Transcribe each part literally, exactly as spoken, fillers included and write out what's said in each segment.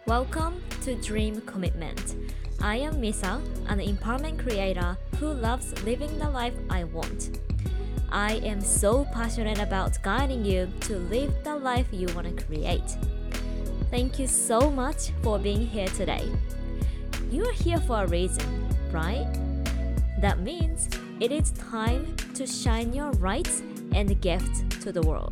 Welcome to Dream Commitment. I am Misa, an empowerment creator who loves living the life I want. I am so passionate about guiding you to live the life you want to create. Thank you so much for being here today. You are here for a reason, right? That means it is time to shine your light and gift to the world.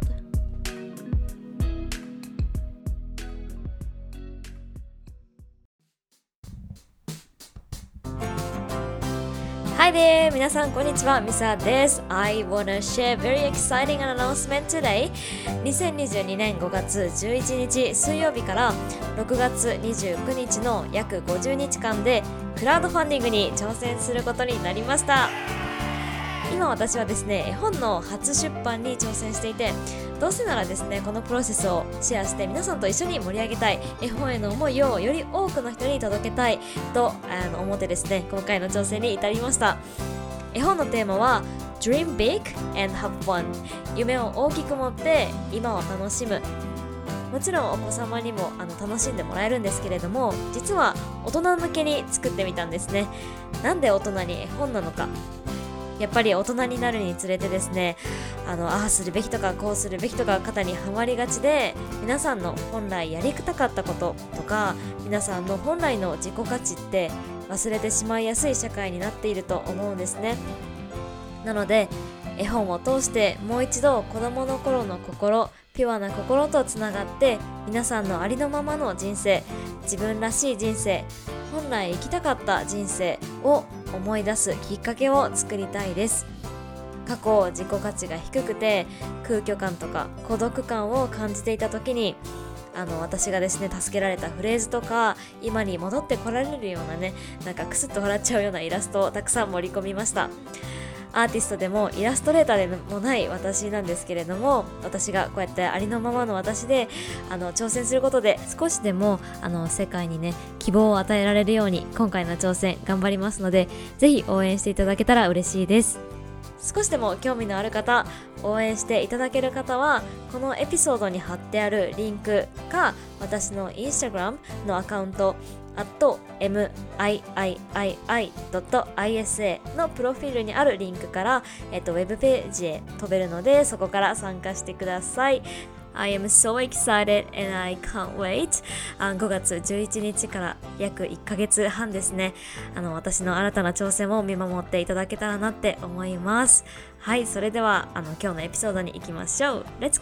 はいでー皆さんこんにちは、ミサです。 I wanna share very exciting announcement today. にせんにじゅうにねんごがつじゅういちにち水曜日からろくがつにじゅうくにちの約ごじゅうにちかんでクラウドファンディングに挑戦することになりました。今私はですね、絵本の初出版に挑戦していて、どうせならですね、このプロセスをシェアして皆さんと一緒に盛り上げたい、絵本への思いをより多くの人に届けたいとあの思ってですね、今回の挑戦に至りました。絵本のテーマは Dream big and have fun。 夢を大きく持って今を楽しむ。もちろんお子様にもあの楽しんでもらえるんですけれども、実は大人向けに作ってみたんですね。なんで大人に絵本なのか。やっぱり大人になるにつれてですね、あのああするべきとかこうするべきとか肩にはまりがちで、皆さんの本来やりたかったこととか皆さんの本来の自己価値って忘れてしまいやすい社会になっていると思うんですね。なので絵本を通してもう一度子供の頃の心、ピュアな心とつながって、皆さんのありのままの人生、自分らしい人生、本来生きたかった人生を思い出すきっかけを作りたいです。過去自己価値が低くて空虚感とか孤独感を感じていた時に、あの私がですね助けられたフレーズとか、今に戻ってこられるようなね、なんかクスッと笑っちゃうようなイラストをたくさん盛り込みました。アーティストでもイラストレーターでもない私なんですけれども、私がこうやってありのままの私であの挑戦することで、少しでもあの世界にね希望を与えられるように今回の挑戦頑張りますので、ぜひ応援していただけたら嬉しいです。少しでも興味のある方、応援していただける方はこのエピソードに貼ってあるリンクか、私のインスタグラムのアカウントアット ミードット アイエスエー のプロフィールにあるリンクから、えっと、ウェブページへ飛べるので、そこから参加してください。I am so excited and I can't wait. ごがつじゅういちにちから約いっかげつはんですね。あの私の新たな挑戦を見守っていただけたらなって思います。はい、それではあの今日のエピソードに行きましょう。Let's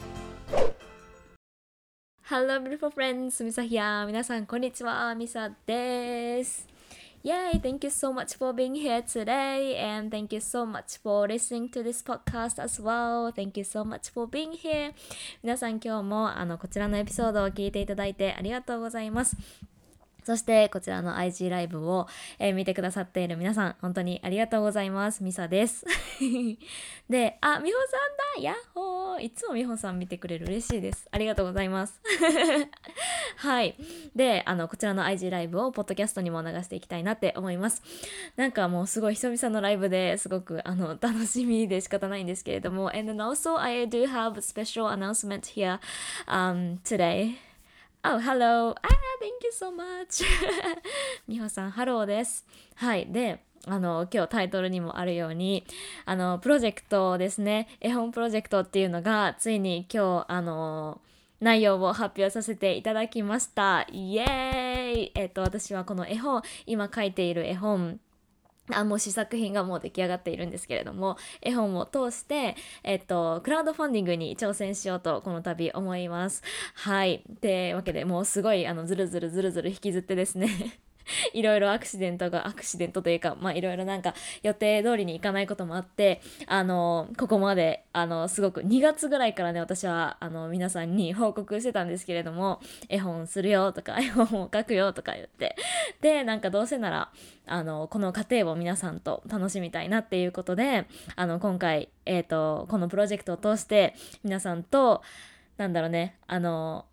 go!Hello beautiful friends, ミサヒア。皆さんこんにちは、ミサです。Yay! Thank you so much for being here today, and thank you so much for listening to this podcast as well. Thank you so much for being here. 皆さん今日もあのこちらのエピソードを聞いていただいてありがとうございます。そしてこちらの アイジー ライブを、えー、見てくださっている皆さん、本当にありがとうございます。ミサですで、あ、ミホさんだ、ヤッホー。いつもミホさん見てくれる、嬉しいです。ありがとうございますはい。で、あのこちらの アイジー ライブをポッドキャストにも流していきたいなって思います。なんかもうすごい久々のライブですごくあの楽しみで仕方ないんですけれども、 and then also I do have a special announcement here、um, today.Oh, hello. Ah, thank you so much. みほさん、ハローです。はい。で、あの、今日タイトルにもあるように、あの、プロジェクトですね。絵本プロジェクトっていうのが、ついに今日、あの、内容を発表させていただきました。イエーイ。えっと、私はこの絵本、今書いている絵本、あもう試作品がもう出来上がっているんですけれども、絵本を通して、えっと、クラウドファンディングに挑戦しようとこの度思います。はい。ってわけで、もうすごいあのずるずるずるずる引きずってですねいろいろアクシデントがアクシデントというか、まあいろいろなんか予定通りにいかないこともあって、あのここまであのすごくにがつぐらいからね、私はあの皆さんに報告してたんですけれども、絵本するよとか絵本を書くよとか言って、でなんかどうせならあのこの過程を皆さんと楽しみたいなっていうことで、あの今回えっとこのプロジェクトを通して皆さんとなんだろうね、あの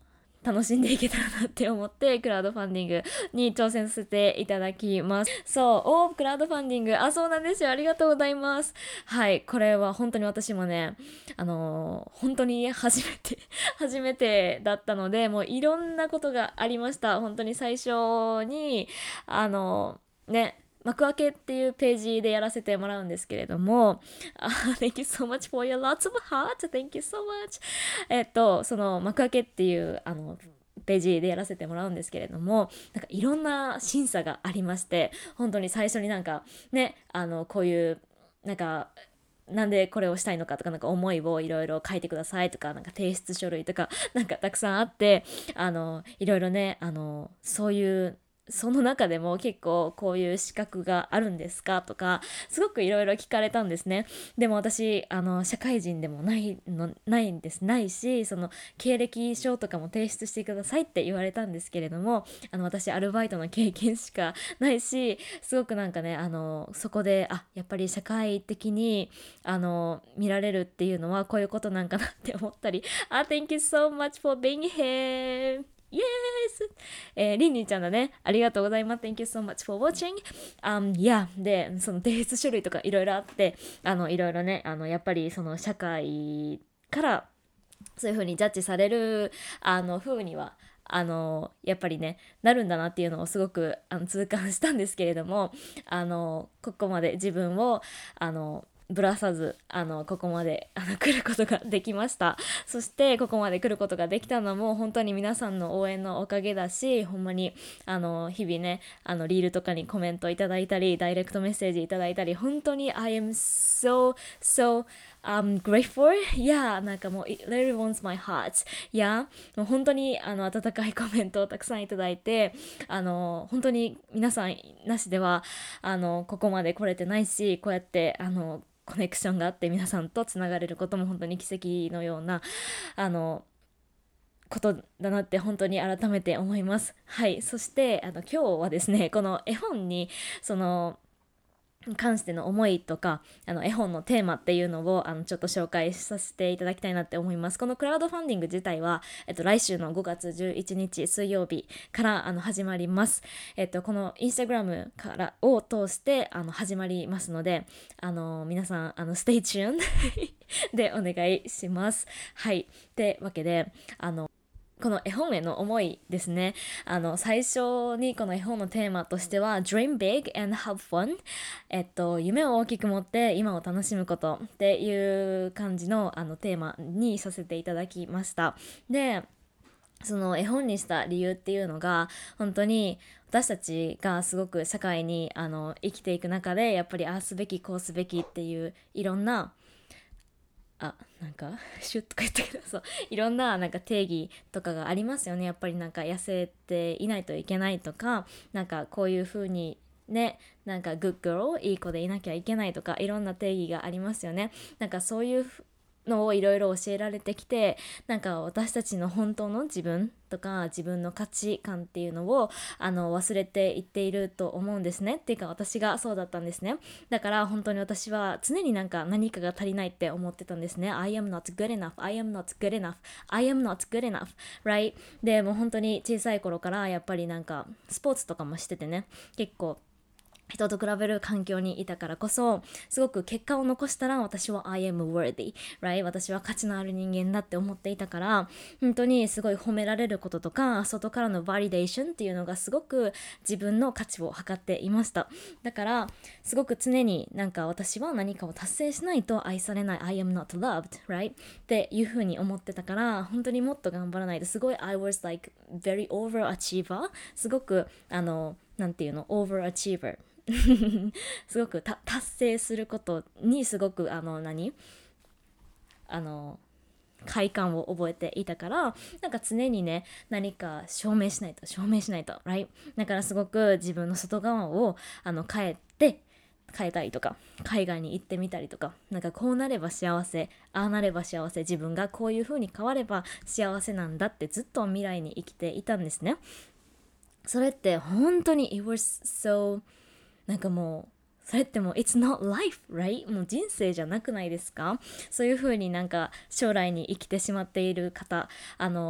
楽しんでいけたらなって思ってクラウドファンディングに挑戦させていただきます。そう、おー、クラウドファンディング、あ、そうなんですよ、ありがとうございます。はい、これは本当に私もね、あのー本当に初めて初めてだったので、もういろんなことがありました。本当に最初にあのーね幕開けっていうページでやらせてもらうんですけれども、あ Thank you so much for your lots of hearts. Thank you so much. えっと、その幕開けっていうあのページでやらせてもらうんですけれども、なんかいろんな審査がありまして、本当に最初になんかね、あのこういうなんかなんでこれをしたいのかとか、なんか思いをいろいろ書いてくださいとか、なんか提出書類とかなんかたくさんあって、あのいろいろね、あのそういうその中でも結構こういう資格があるんですかとか、すごくいろいろ聞かれたんですね。でも私あの社会人でもないのないんですないし、その経歴書とかも提出してくださいって言われたんですけれども、あの私アルバイトの経験しかないし、すごくなんかね、あのそこであやっぱり社会的にあの見られるっていうのはこういうことなんかなって思ったり、あ Thank you so much for being here. Yes! えー、リンリンちゃんだね。ありがとうございます。Thank you so much for watching. Um, yeah. で、その提出書類とかいろいろあって、あの、いろいろね、あの、やっぱりその社会からそういう風にジャッジされる、あの、風には、あの、やっぱりね、なるんだなっていうのをすごくあの痛感したんですけれども、あの、ここまで自分を、あの、ぶらさずあのここまであの来ることができました。そしてここまで来ることができたのも本当に皆さんの応援のおかげだし、ほんまにあの日々ね、あのリールとかにコメントいただいたりダイレクトメッセージいただいたり、本当に I am so so I'm grateful. Yeah, なんかもう it really warms my heart. Yeah, もう本当にあの温かいコメントをたくさんいただいて、あの本当に皆さんなしではあのここまで来れてないし、こうやってあのコネクションがあって皆さんとつながれることも本当に奇跡のようなあのことだなって本当に改めて思います。はい、そしてあの今日はですね、この絵本にその関しての思いとか、あの絵本のテーマっていうのをあのちょっと紹介させていただきたいなって思います。このクラウドファンディング自体は、えっと、来週のごがつじゅういちにち水曜日からあの始まります。えっと、このインスタグラムからを通してあの始まりますので、あの皆さんあのステイチューンでお願いします。はい、ってわけであのこの絵本への思いですね。あの最初にこの絵本のテーマとしては Dream big and have fun、 えっと夢を大きく持って今を楽しむことっていう感じのあのテーマにさせていただきました。でその絵本にした理由っていうのが、本当に私たちがすごく社会にあの生きていく中で、やっぱりああすべきこうすべきっていういろんなあなんかシュッとか言ったけど、そういろんななんか定義とかがありますよね。やっぱりなんか痩せていないといけないとか、なんかこういう風にね、なんかグッド girl いい子でいなきゃいけないとか、いろんな定義がありますよね。なんかそういうのをいろいろ教えられてきて、なんか私たちの本当の自分とか自分の価値観っていうのをあの忘れていっていると思うんですね。っていうか私がそうだったんですね。だから本当に私は常になんか何かが足りないって思ってたんですね。 I am not good enough, I am not good enough, I am not good enough, right? でもう本当に小さい頃からやっぱりなんかスポーツとかもしててね、結構人と比べる環境にいたからこそ、すごく結果を残したら私は I am worthy, right? 私は価値のある人間だって思っていたから、本当にすごい褒められることとか外からのバリデーションっていうのがすごく自分の価値を測っていました。だからすごく常になんか私は何かを達成しないと愛されない、 I am not loved, right? っていう風に思ってたから、本当にもっと頑張らないと、すごい I was like very overachiever、 すごくあのなんていうの overachiever すごくた達成することにすごくあの何あの快感を覚えていたから、なんか常にね何か証明しないと証明しないと right? だからすごく自分の外側をあの変えて変えたりとか、海外に行ってみたりとか、なんかこうなれば幸せ、ああなれば幸せ、自分がこういう風に変われば幸せなんだってずっと未来に生きていたんですね。それって本当に it was so なんかもうそれってもう it's not life, right? もう人生じゃなくないですか？そういう風になんか将来に生きてしまっている方、あの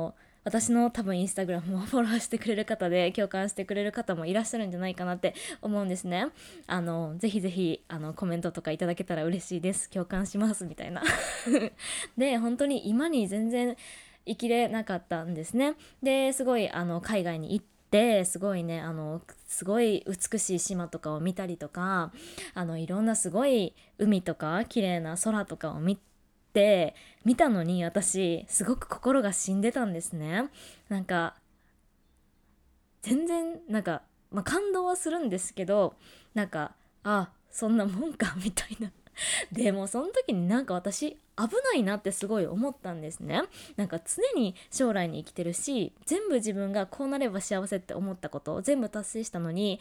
私の多分インスタグラムをフォローしてくれる方で共感してくれる方もいらっしゃるんじゃないかなって思うんですね。あのぜひぜひあのコメントとかいただけたら嬉しいです。共感しますみたいなで本当に今に全然生きれなかったんですね。ですごいあの海外に行ってすごいねあのすごい美しい島とかを見たりとか、あのいろんなすごい海とか綺麗な空とかを見て見たのに、私すごく心が死んでたんですね。なんか全然なんか、まあ、感動はするんですけど、なんかあそんなもんかみたいなでもその時になんか私危ないなってすごい思ったんですね。なんか常に将来に生きてるし、全部自分がこうなれば幸せって思ったことを全部達成したのに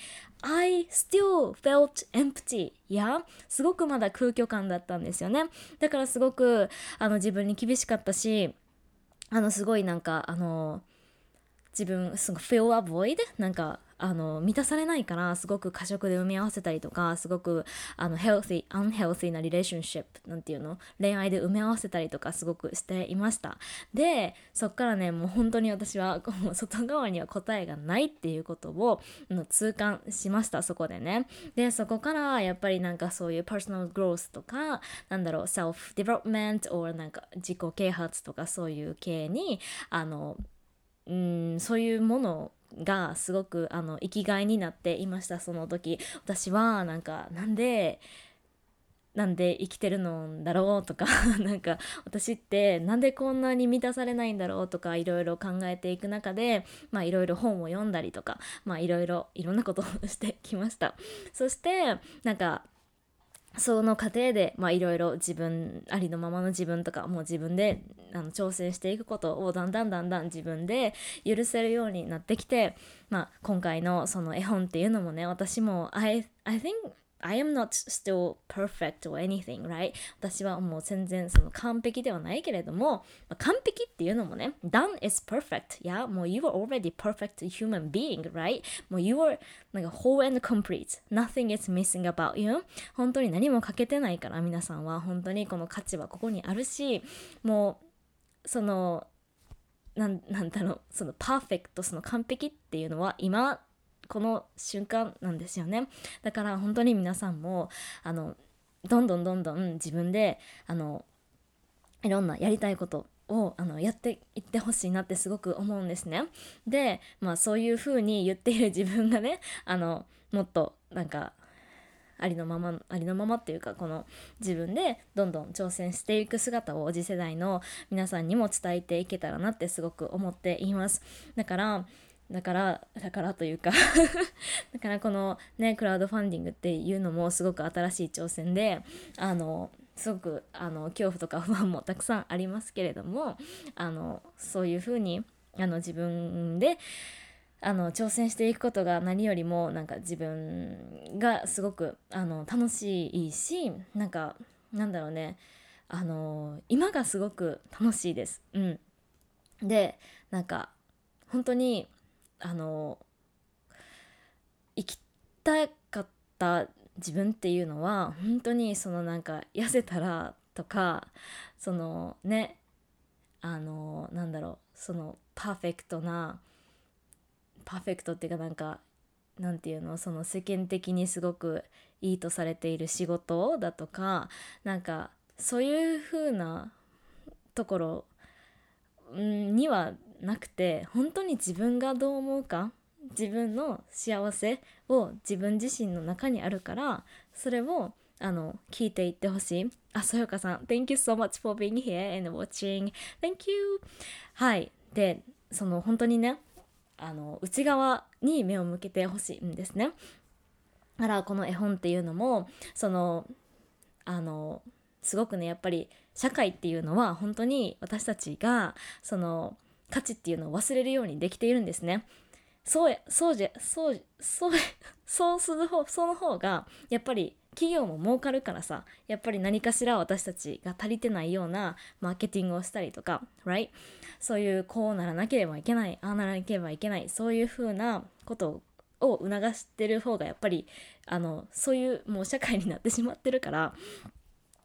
I still felt empty いやすごくまだ空虚感だったんですよね。だからすごくあの自分に厳しかったし、あのすごいなんかあの自分すごい fill a void なんかあの満たされないから、すごく過食で埋め合わせたりとか、すごくあの healthy unhealthy な relationship なんていうの恋愛で埋め合わせたりとかすごくしていました。でそっからねもう本当に私はもう外側には答えがないっていうことを痛感しました、そこでね。でそこからやっぱりなんかそういう personal growth とかなんだろう self development or なんか自己啓発とかそういう系にあのうんそういうものがすごくあの生きがいになっていました。その時私はなんかなんでなんで生きてるのだろうとかなんか私ってなんでこんなに満たされないんだろうとかいろいろ考えていく中で、まあいろいろ本を読んだりとか、まあいろいろいろんなことをしてきました。そしてなんかその過程でいろいろ自分ありのままの自分とかもう自分であの挑戦していくことをだんだんだんだん自分で許せるようになってきて、まあ、今回のその絵本っていうのもね、私も I, I think I am not still perfect or anything, right? 私はもう全然その完璧ではないけれども、まあ、完璧っていうのもね done is perfect. Yeah? もう you are already perfect human being, right? もう you are なんか whole and complete. Nothing is missing about you. 本当に何も欠けてないから、皆さんは本当にこの価値はここにあるし、もうそのなん、なんだろうそのパーフェクト、その完璧っていうのは今この瞬間なんですよね。だから本当に皆さんもあのどんどんどんどん自分であのいろんなやりたいことをあのやっていってほしいなってすごく思うんですね。で、まあそういう風に言っている自分がね、あのもっとなんかありのままありのままっていうか、この自分でどんどん挑戦していく姿を次世代の皆さんにも伝えていけたらなってすごく思っています。だからだからだからというかだからこのねクラウドファンディングっていうのもすごく新しい挑戦で、あのすごくあの恐怖とか不安もたくさんありますけれども、あのそういうふうにあの自分であの挑戦していくことが何よりもなんか自分がすごくあの楽しいし、なんかなんだろうね、あの今がすごく楽しいです。うん。でなんか本当にあの生きたかった自分っていうのは本当にそのなんか痩せたらとか、そのねあのなんだろうそのパーフェクトなパーフェクトっていうかなんかなんていうのその世間的にすごくいいとされている仕事だとか、なんかそういう風なところにはなくて、本当に自分がどう思うか、自分の幸せを自分自身の中にあるから、それをあの聞いていってほしい。あ、そよかさん Thank you so much for being here and watching. Thank you. はい。でその本当にねあの内側に目を向けてほしいんですね。だからこの絵本っていうのもそのあのすごくねやっぱり社会っていうのは本当に私たちがその価値っていうのを忘れるようにできているんですね。そうそうじゃそうそうそうする方その方がやっぱり企業も儲かるからさ、やっぱり何かしら私たちが足りてないようなマーケティングをしたりとか right? そういうこうならなければいけない、ああならなければいけない、そういう風なことを促してる方がやっぱりあのそういうもう社会になってしまってるから、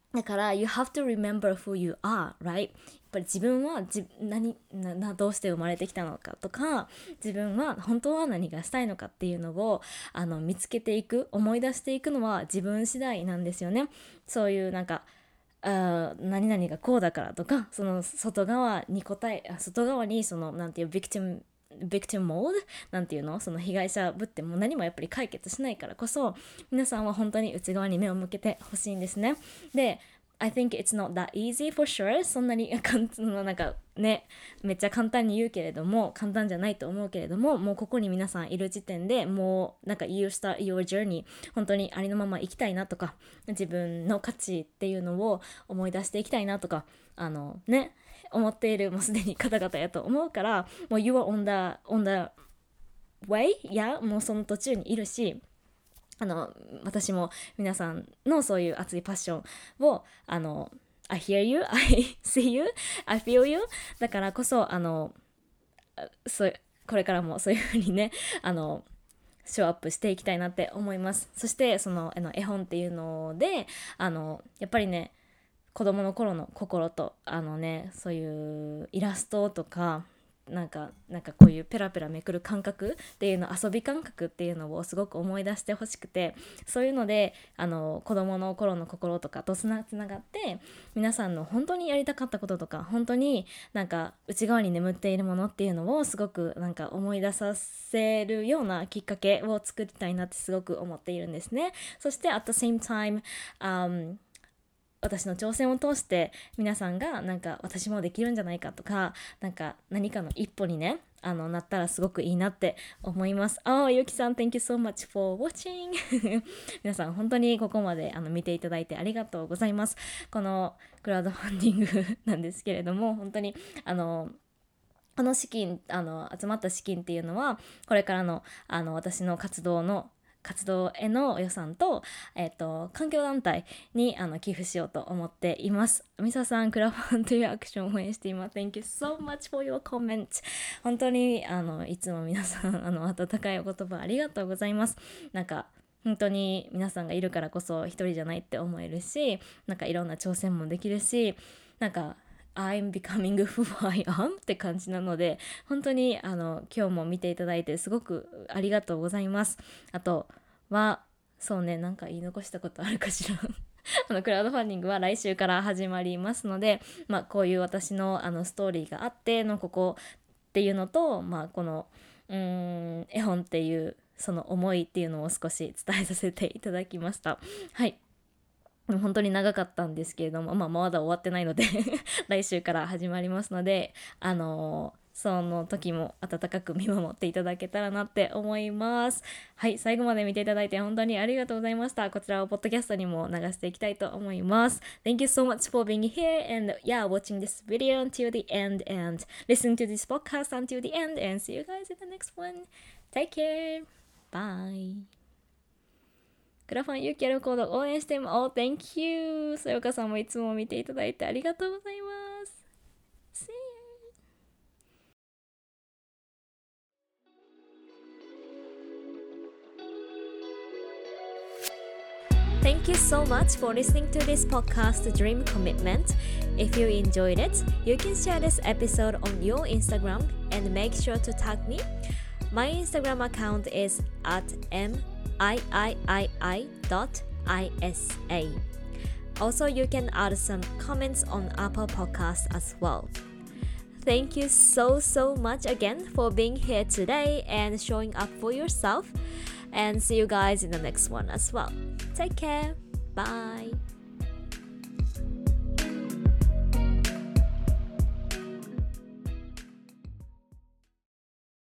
だから you have to remember who you are, right? やっぱり自分はじ何ななどうして生まれてきたのかとか、自分は本当は何がしたいのかっていうのをあの見つけていく、思い出していくのは自分次第なんですよね。そういうなんかあ何々がこうだからとか、その外側に答え外側にそのなんていうビクティムビクティムモードなんていうの、その被害者ぶっても何もやっぱり解決しないからこそ、皆さんは本当に内側に目を向けてほしいんですね。で、I think it's not that easy for sure. そんなになんかね、めっちゃ簡単に言うけれども、簡単じゃないと思うけれども、もうここに皆さんいる時点でもうなんか you start your journey 本当にありのまま生きたいなとか、自分の価値っていうのを思い出していきたいなとか、あのね思っているもうすでに方々やと思うから、もう you are on the, on the way? いや、もうその途中にいるし、あの私も皆さんのそういう熱いパッションをあの I hear you, I see you, I feel you だからこそあのそこれからもそういうふうにねあのショーアップしていきたいなって思います。そしてそのあの絵本っていうのであのやっぱりね子供の頃の心とあのねそういうイラストとかなんかなんかこういうペラペラめくる感覚っていうの、遊び感覚っていうのをすごく思い出してほしくて、そういうのであの子供の頃の心とかとつなつながって皆さんの本当にやりたかったこととか本当になんか内側に眠っているものっていうのをすごくなんか思い出させるようなきっかけを作りたいなってすごく思っているんですね。そして at the same time、um私の挑戦を通して皆さんがなんか私もできるんじゃないかとか、なんか何かの一歩にねあのなったらすごくいいなって思います。ああ、ゆきさん Thank you so much for watching 皆さん本当にここまであの見ていただいてありがとうございます。このクラウドファンディングなんですけれども、本当にあのこの資金あの集まった資金っていうのはこれからのあの私の活動の活動への予算と、えっと、環境団体にあの寄付しようと思っています。ミサさん、クラファンというアクションを応援しています。Thank you so much for your comment. 本当にあのいつも皆さんあの温かいお言葉ありがとうございます。なんか本当に皆さんがいるからこそ一人じゃないって思えるし、なんかいろんな挑戦もできるし、なんかI'm becoming who I am って感じなので、本当にあの今日も見ていただいてすごくありがとうございます。あとはそうね、なんか言い残したことあるかしらあのクラウドファンディングは来週から始まりますので、まあ、こういう私のあのストーリーがあってのここっていうのと、まあ、このうーん絵本っていうその思いっていうのを少し伝えさせていただきました。はい、本当に長かったんですけれども、まあ、まだ終わってないので来週から始まりますので、あのー、その時も温かく見守っていただけたらなって思います。はい、最後まで見ていただいて本当にありがとうございました。こちらをポッドキャストにも流していきたいと思います。Thank you so much for being here and yeah, watching this video until the end and listening to this podcast until the end and see you guys in the next one. Take care. Bye.クラファンユーキャルコード応援しています。Oh, thank you. そよかさんもいつも見ていただいてありがとうございます。See you. Thank you so much for listening to this podcast, Dream Commitment. If you enjoyed it, you can share this episode on your Instagram and make sure to tag me. My Instagram account is at m I I I I dot I S A. Also, you can add some comments on Apple Podcasts as well. Thank you so so much again for being here today and showing up for yourself. And see you guys in the next one as well. Take care. Bye.